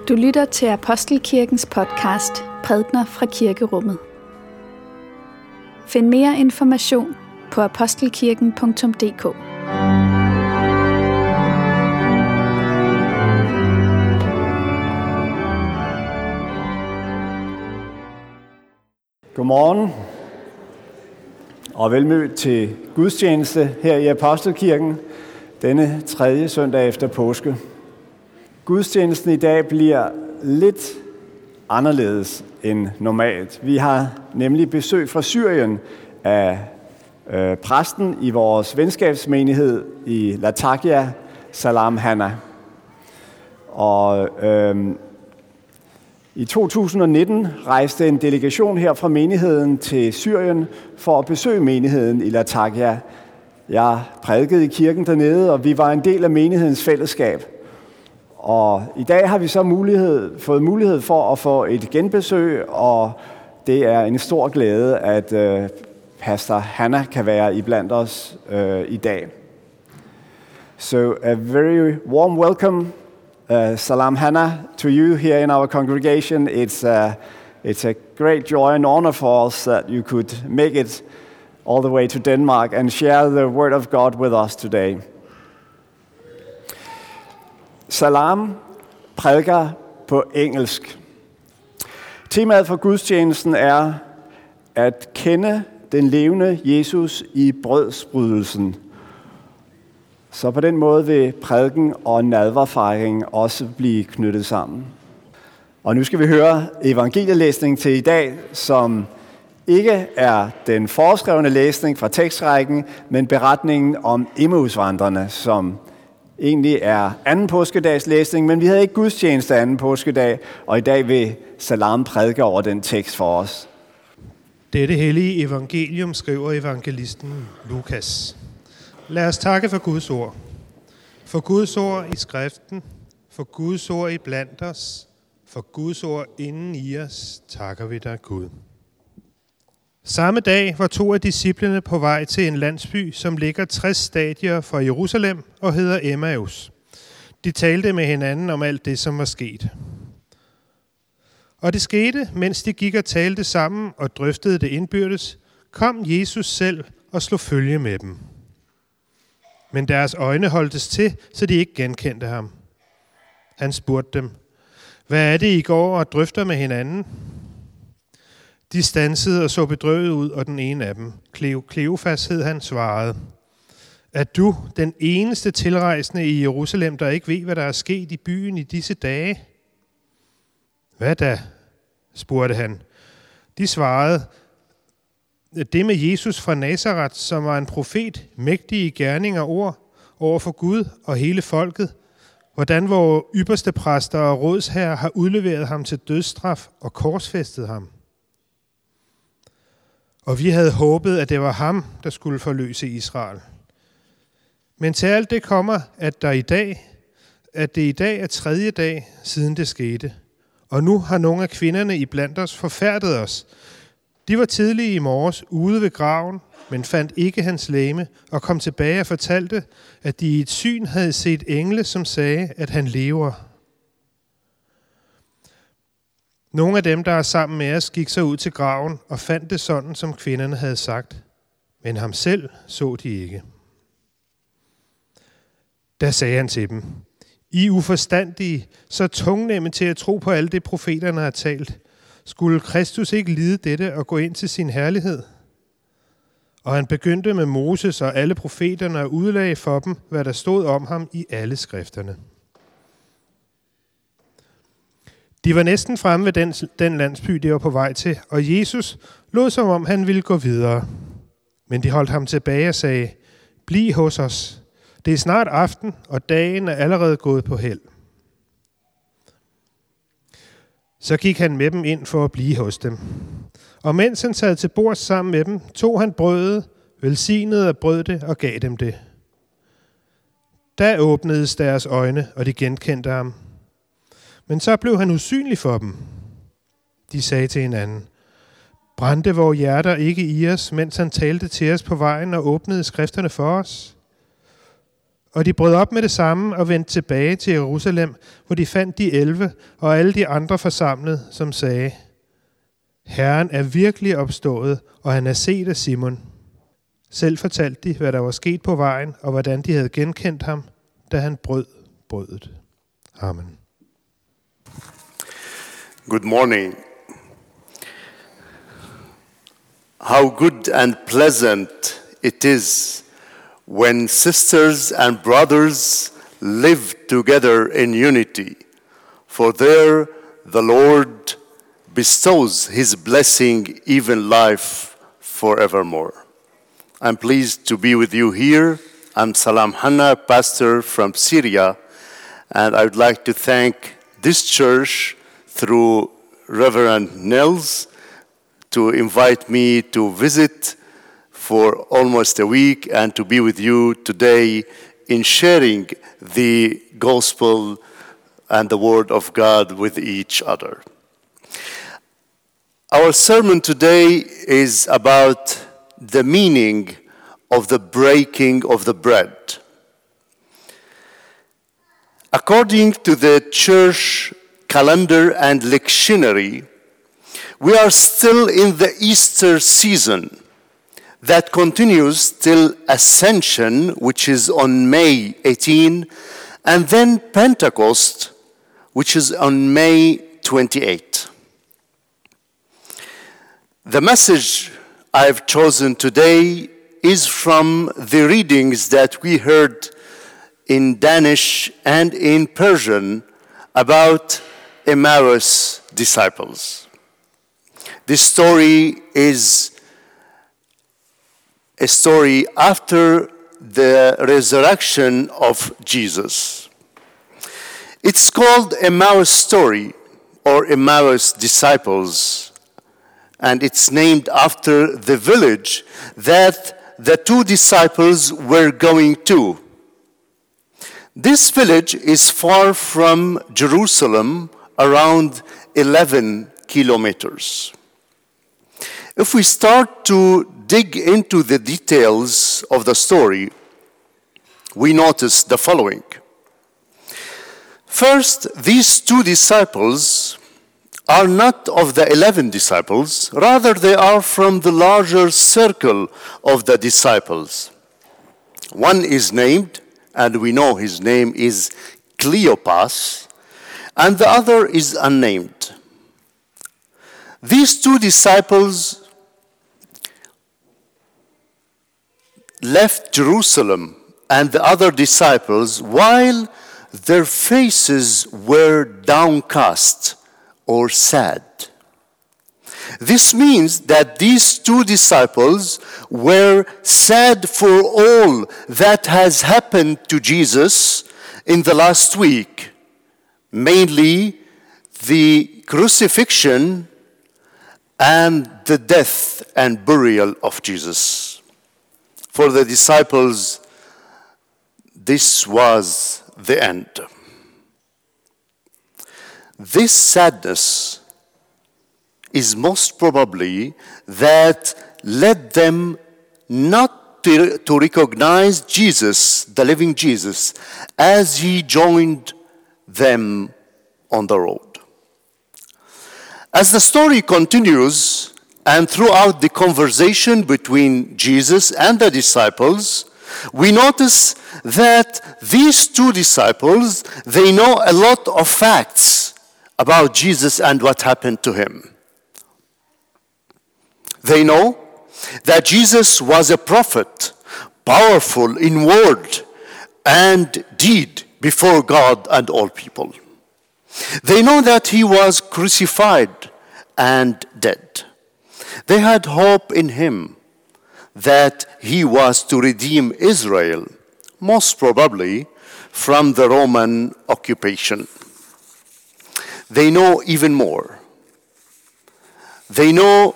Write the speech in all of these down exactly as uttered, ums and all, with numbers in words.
Du lytter til Apostelkirkens podcast Prædner fra Kirkerummet. Find mere information på apostelkirken punktum d k. Godmorgen og velmødt til gudstjeneste her i Apostelkirken denne tredje søndag efter påske. Gudstjenesten i dag bliver lidt anderledes end normalt. Vi har nemlig besøg fra Syrien af øh, præsten i vores venskabsmenighed i Latakia, Salam Hanna. Og øh, i to tusind og nitten rejste en delegation her fra menigheden til Syrien for at besøge menigheden i Latakia. Jeg prædikede i kirken dernede, og vi var en del af menighedens fællesskab. Og i dag har vi så mulighed, fået mulighed for at få et genbesøg, og det er en stor glæde, at øh, pastor Hanna kan være iblandt os øh, i dag. So a very warm welcome, uh, Salam Hanna, to you here in our congregation. It's a, it's a great joy and honor for us that you could make it all the way to Denmark and share the word of God with us today. Salam prædiker på engelsk. Temaet for gudstjenesten er at kende den levende Jesus i brødsbrydelsen. Så på den måde vil prædiken og nadverfejring også blive knyttet sammen. Og nu skal vi høre evangelielæsning til i dag, som ikke er den foreskrevne læsning fra tekstrækken, men beretningen om Emmausvandrerne, som egentlig er anden påskedags læsning, men vi havde ikke gudstjeneste anden påskedag, og i dag vil Salam prædike over den tekst for os. Dette hellige evangelium skriver evangelisten Lukas. Lad os takke for Guds ord. For Guds ord i skriften, for Guds ord i blandt os, for Guds ord inden i os, takker vi dig, Gud. Samme dag var to af disciplene på vej til en landsby, som ligger tres stadier fra Jerusalem og hedder Emmaus. De talte med hinanden om alt det, som var sket. Og det skete, mens de gik og talte sammen og drøftede det indbyrdes, kom Jesus selv og slog følge med dem. Men deres øjne holdtes til, så de ikke genkendte ham. Han spurgte dem, hvad er det, I går og drøfter med hinanden? De stansede og så bedrøvet ud, og den ene af dem, Kleofas hed han, svarede, er du den eneste tilrejsende i Jerusalem, der ikke ved, hvad der er sket i byen i disse dage? Hvad da? Spurgte han. De svarede, det med Jesus fra Nazaret, som var en profet, mægtig i gerning og ord over for Gud og hele folket, hvordan vores ypperste præster og rådsherrer har udleveret ham til dødsstraf og korsfæstet ham. Og vi havde håbet, at det var ham, der skulle forløse Israel. Men til alt det kommer, at der i dag, at det i dag er tredje dag, siden det skete. Og nu har nogle af kvinderne iblandt os forfærdet os. De var tidlige i morges ude ved graven, men fandt ikke hans legeme, og kom tilbage og fortalte, at de i et syn havde set engle, som sagde, at han lever. Nogle af dem, der er sammen med os, gik så ud til graven og fandt det sådan, som kvinderne havde sagt. Men ham selv så de ikke. Da sagde han til dem, I uforstandige, så tungnemme til at tro på alt det, profeterne har talt. Skulle Kristus ikke lide dette og gå ind til sin herlighed? Og han begyndte med Moses og alle profeterne og udlagde for dem, hvad der stod om ham i alle skrifterne. De var næsten fremme ved den, den landsby, de var på vej til, og Jesus lod som om, han ville gå videre. Men de holdt ham tilbage og sagde, bliv hos os. Det er snart aften, og dagen er allerede gået på held. Så gik han med dem ind for at blive hos dem. Og mens han sad til bords sammen med dem, tog han brødet, velsignede og brød det og gav dem det. Da åbnedes deres øjne, og de genkendte ham. Men så blev han usynlig for dem. De sagde til hinanden, brændte vores hjerter ikke i os, mens han talte til os på vejen og åbnede skrifterne for os? Og de brød op med det samme og vendte tilbage til Jerusalem, hvor de fandt de elve og alle de andre forsamlet, som sagde, Herren er virkelig opstået, og han er set af Simon. Selv fortalte de, hvad der var sket på vejen, og hvordan de havde genkendt ham, da han brød brødet. Amen. Good morning. How good and pleasant it is when sisters and brothers live together in unity, for there the Lord bestows his blessing, even life forevermore. I'm pleased to be with you here. I'm Salam Hanna, pastor from Syria, and I would like to thank this church through Reverend Nels to invite me to visit for almost a week and to be with you today in sharing the gospel and the word of God with each other. Our sermon today is about the meaning of the breaking of the bread. According to the church calendar and lectionary, we are still in the Easter season that continues till Ascension, which is on May eighteenth, and then Pentecost, which is on May twenty-eighth. The message I've chosen today is from the readings that we heard in Danish and in Persian about Emmaus disciples. This story is a story after the resurrection of Jesus. It's called Emmaus story or Emmaus disciples, and it's named after the village that the two disciples were going to. This village is far from Jerusalem, around eleven kilometers. If we start to dig into the details of the story, we notice the following. First, these two disciples are not of the eleven disciples, rather they are from the larger circle of the disciples. One is named, and we know his name is Cleopas, and the other is unnamed. These two disciples left Jerusalem and the other disciples while their faces were downcast or sad. This means that these two disciples were sad for all that has happened to Jesus in the last week, mainly the crucifixion and the death and burial of Jesus. For the disciples, this was the end. This sadness is most probably that led them not to, to recognize Jesus, the living Jesus, as he joined them on the road. As the story continues, and throughout the conversation between Jesus and the disciples, we notice that these two disciples, they know a lot of facts about Jesus and what happened to him. They know that Jesus was a prophet, powerful in word and deed before God and all people. They know that he was crucified and dead. They had hope in him that he was to redeem Israel, most probably from the Roman occupation. They know even more. They know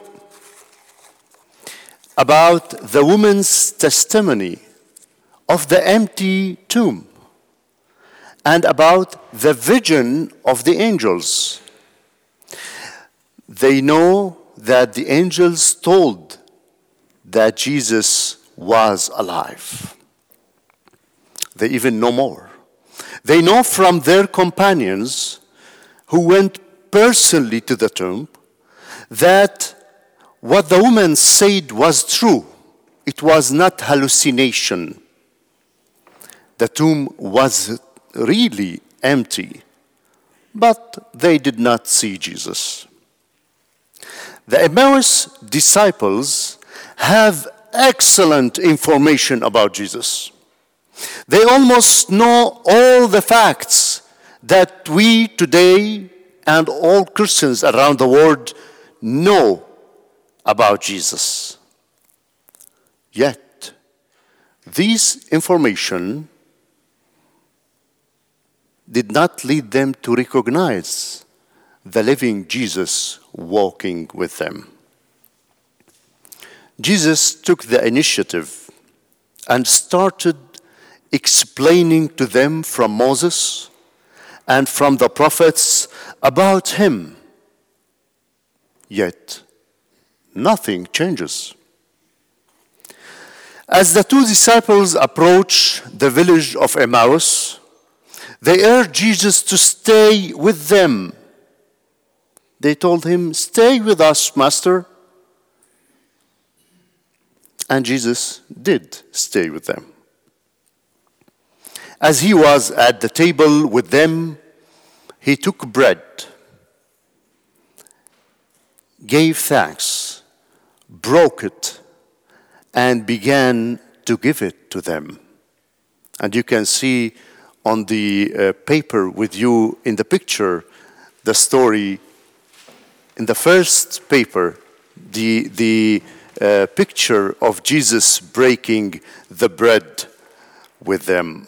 about the woman's testimony of the empty tomb and about the vision of the angels. They know that the angels told that Jesus was alive. They even know more. They know from their companions who went personally to the tomb that what the woman said was true. It was not hallucination. The tomb was really empty, but they did not see Jesus. The Emmaus disciples have excellent information about Jesus. They almost know all the facts that we today and all Christians around the world know about Jesus. Yet, this information did not lead them to recognize the living Jesus walking with them. Jesus took the initiative and started explaining to them from Moses and from the prophets about him. Yet, nothing changes. As the two disciples approach the village of Emmaus, they urged Jesus to stay with them. They told him, "Stay with us, Master." And Jesus did stay with them. As he was at the table with them, he took bread, gave thanks, broke it, and began to give it to them. And you can see on the uh, paper with you in the picture the story. In the first paper, the, the uh, picture of Jesus breaking the bread with them.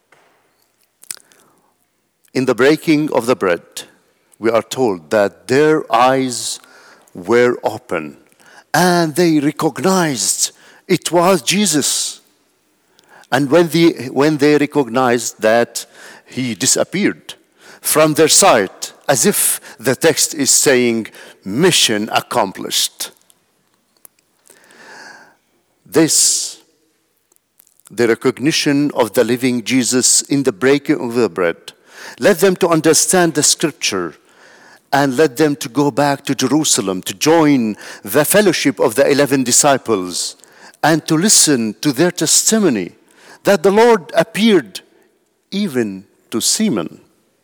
In the breaking of the bread, we are told that their eyes were open and they recognized it was Jesus. And when, the, when they recognized that, he disappeared from their sight, as if the text is saying, mission accomplished. This, the recognition of the living Jesus in the breaking of the bread, led them to understand the scripture and led them to go back to Jerusalem to join the fellowship of the eleven disciples and to listen to their testimony that the Lord appeared even to Simon.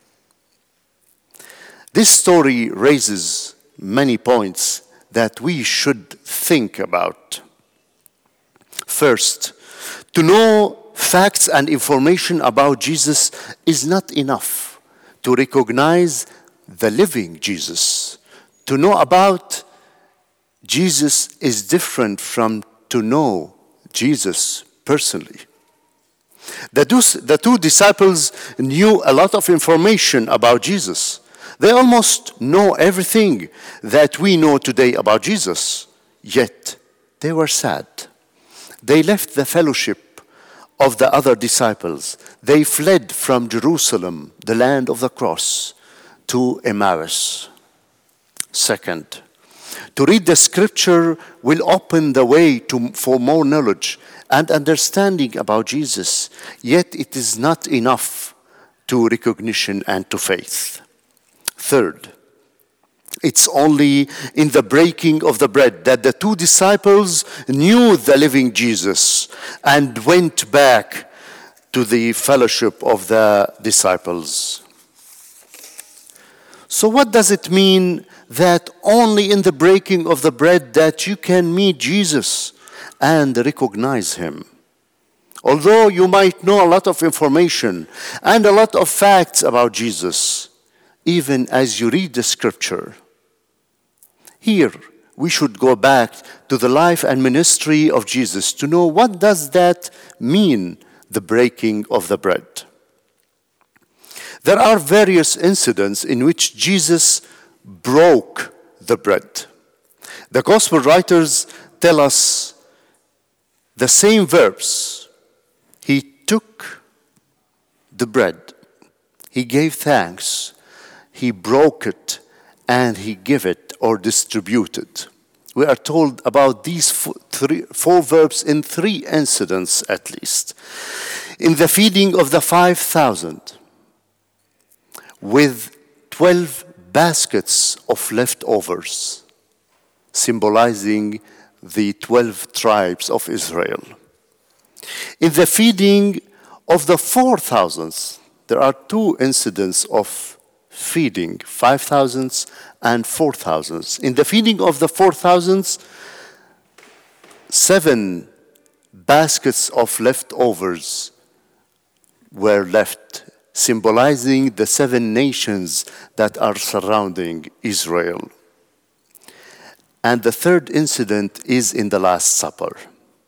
This story raises many points that we should think about. First, to know facts and information about Jesus is not enough to recognize the living Jesus. To know about Jesus is different from to know Jesus personally. The two, the two disciples knew a lot of information about Jesus. They almost know everything that we know today about Jesus. Yet, they were sad. They left the fellowship of the other disciples. They fled from Jerusalem, the land of the cross, to Emmaus. Second, to read the scripture will open the way to, for more knowledge and understanding about Jesus. Yet it is not enough to recognition and to faith. Third, it's only in the breaking of the bread that the two disciples knew the living Jesus and went back to the fellowship of the disciples. So what does it mean that only in the breaking of the bread that you can meet Jesus and recognize him? Although you might know a lot of information and a lot of facts about Jesus, even as you read the scripture, here we should go back to the life and ministry of Jesus to know what does that mean, the breaking of the bread. There are various incidents in which Jesus broke the bread. The gospel writers tell us the same verbs. He took the bread, he gave thanks, he broke it, and he gave it or distributed. We are told about these four, three, four verbs in three incidents at least. In the feeding of the five thousand, with twelve baskets of leftovers, symbolizing the twelve tribes of Israel. In the feeding of the four thousands, there are two incidents of feeding, five thousands and four thousands. In the feeding of the four thousands, seven baskets of leftovers were left, symbolizing the seven nations that are surrounding Israel. And the third incident is in the Last Supper.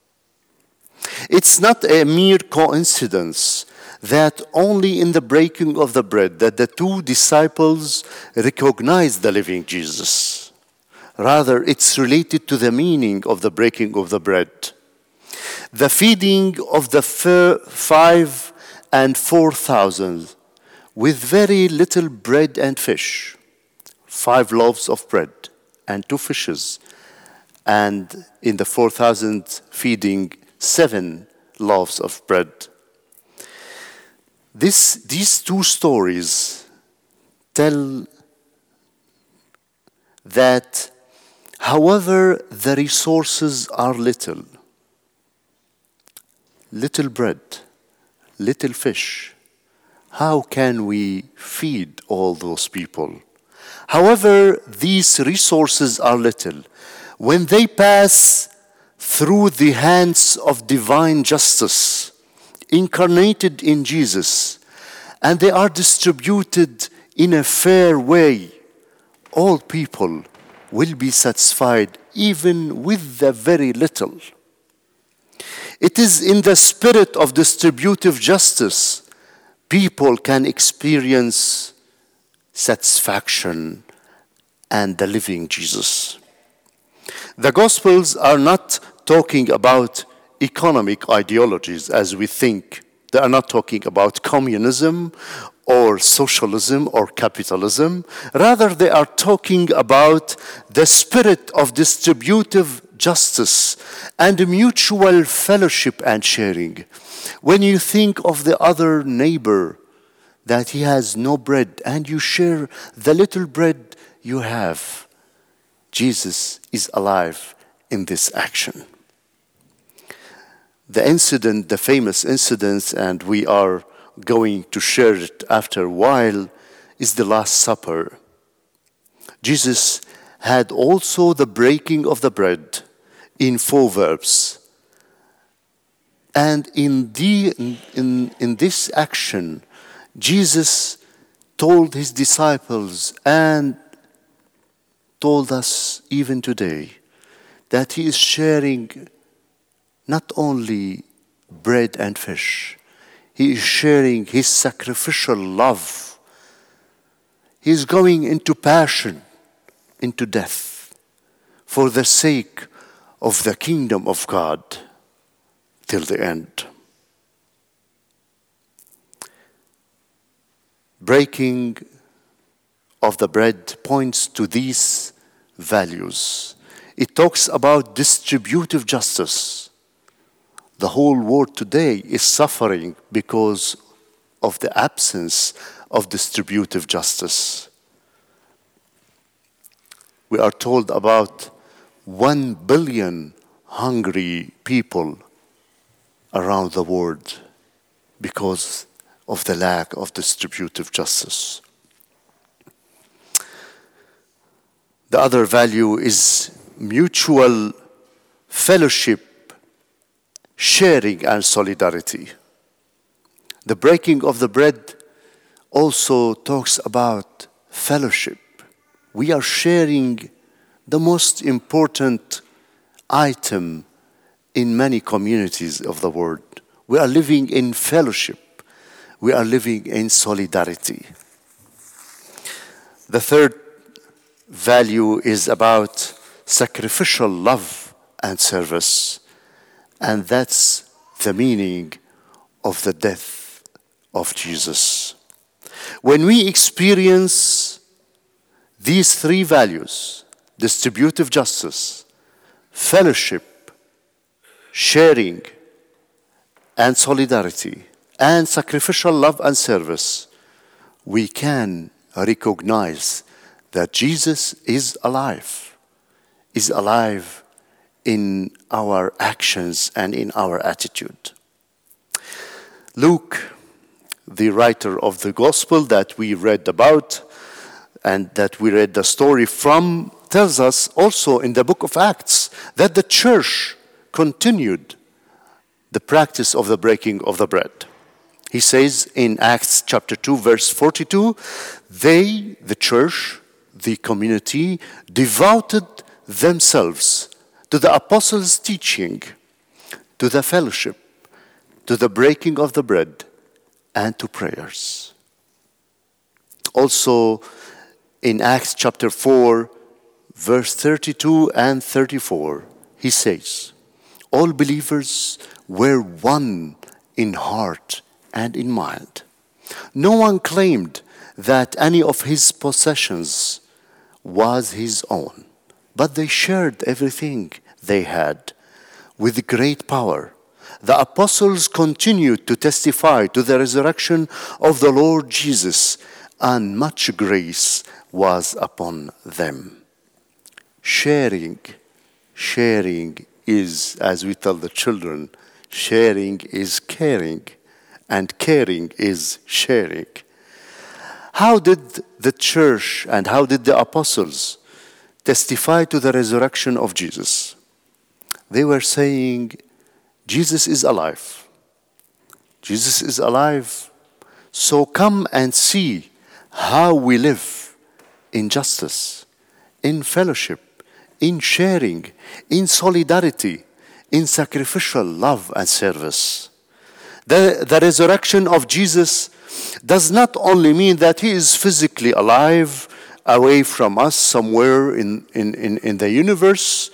It's not a mere coincidence that only in the breaking of the bread that the two disciples recognized the living Jesus. Rather, it's related to the meaning of the breaking of the bread. The feeding of the five and four thousand with very little bread and fish, five loaves of bread and two fishes, and in the four thousand feeding, seven loaves of bread. This, these two stories tell that however the resources are little, little bread, little fish, how can we feed all those people? However, these resources are little. When they pass through the hands of divine justice, incarnated in Jesus, and they are distributed in a fair way, all people will be satisfied even with the very little. It is in the spirit of distributive justice people can experience satisfaction and the living Jesus. The Gospels are not talking about economic ideologies as we think. They are not talking about communism or socialism or capitalism. Rather, they are talking about the spirit of distributive justice and mutual fellowship and sharing. When you think of the other neighbor that he has no bread and you share the little bread you have, Jesus is alive in this action. The incident, the famous incident, and we are going to share it after a while, is the Last Supper. Jesus had also the breaking of the bread in four verbs. And in, the, in, in this action, Jesus told his disciples and told us even today that he is sharing not only bread and fish, he is sharing his sacrificial love. He is going into passion, into death, for the sake of the kingdom of God till the end. Breaking of the bread points to these values. It talks about distributive justice. The whole world today is suffering because of the absence of distributive justice. We are told about one billion hungry people around the world because of the lack of distributive justice. The other value is mutual fellowship, sharing, and solidarity. The breaking of the bread also talks about fellowship. We are sharing the most important item in many communities of the world. We are living in fellowship. We are living in solidarity. The third value is about sacrificial love and service. And that's the meaning of the death of Jesus. When we experience these three values, distributive justice, fellowship, sharing, and solidarity, and sacrificial love and service, we can recognize that Jesus is alive, is alive in our actions and in our attitude. Luke, the writer of the gospel that we read about and that we read the story from, tells us also in the book of Acts that the church continued the practice of the breaking of the bread. He says in Acts chapter two, verse forty-two, they, the church, the community, devoted themselves to the apostles' teaching, to the fellowship, to the breaking of the bread, and to prayers. Also in Acts chapter four, verse thirty-two and thirty-four, he says, all believers were one in heart and in mind. No one claimed that any of his possessions was his own, but they shared everything they had with great power. The apostles continued to testify to the resurrection of the Lord Jesus, and much grace was upon them. Sharing, sharing is, as we tell the children, sharing is caring, and caring is sharing. How did the church and how did the apostles testify to the resurrection of Jesus? They were saying, Jesus is alive. Jesus is alive. So come and see how we live in justice, in fellowship, in sharing, in solidarity, in sacrificial love and service. The, the resurrection of Jesus does not only mean that he is physically alive, away from us somewhere in, in, in, in the universe,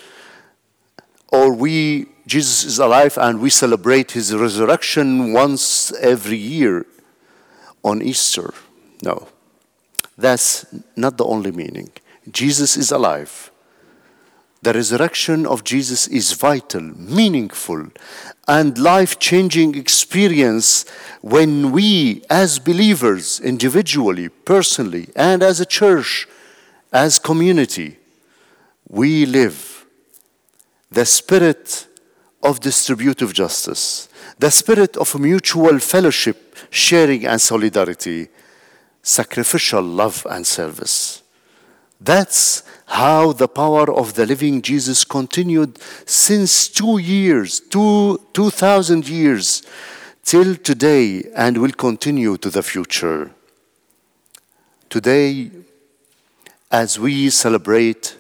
or we, Jesus is alive and we celebrate his resurrection once every year on Easter. No, that's not the only meaning. Jesus is alive. The resurrection of Jesus is vital, meaningful, and life-changing experience when we, as believers, individually, personally, and as a church, as community, we live the spirit of distributive justice, the spirit of mutual fellowship, sharing and solidarity, sacrificial love and service. That's how the power of the living Jesus continued since two years, two, two thousand years, till today, and will continue to the future. Today, as we celebrate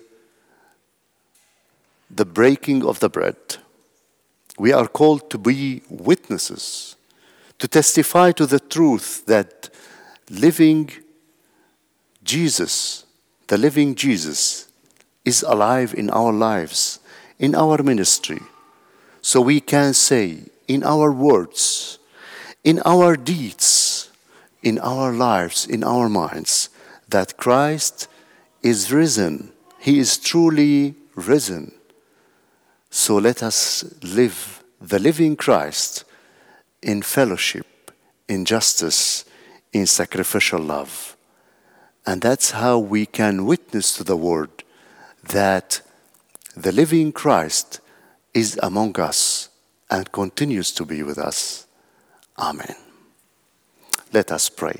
the breaking of the bread, we are called to be witnesses, to testify to the truth that living Jesus, the living Jesus, is alive in our lives, in our ministry. So we can say in our words, in our deeds, in our lives, in our minds, that Christ is risen. He is truly risen. So let us live the living Christ in fellowship, in justice, in sacrificial love. And that's how we can witness to the world that the living Christ is among us and continues to be with us. Amen. Let us pray.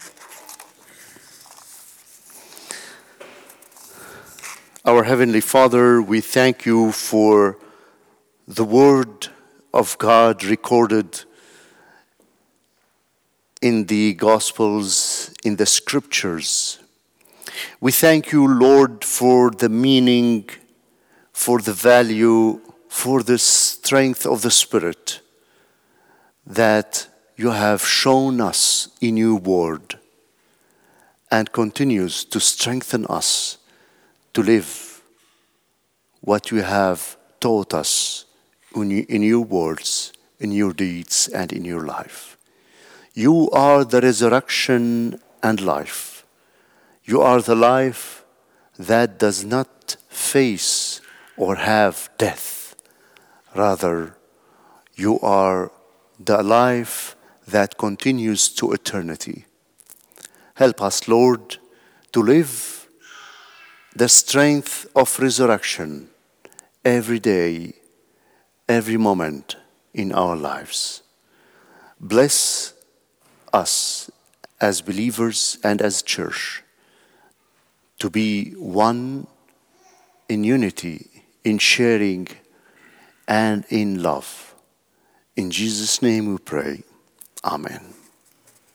Our Heavenly Father, we thank you for the Word of God recorded in the Gospels, in the Scriptures. We thank you, Lord, for the meaning, for the value, for the strength of the Spirit that you have shown us in your Word and continues to strengthen us to live what you have taught us in your words, in your deeds, and in your life. You are the resurrection and life. You are the life that does not face or have death. Rather, you are the life that continues to eternity. Help us, Lord, to live the strength of resurrection every day, every moment in our lives. Bless us as believers and as church to be one in unity, in sharing, and in love. In Jesus' name we pray. Amen.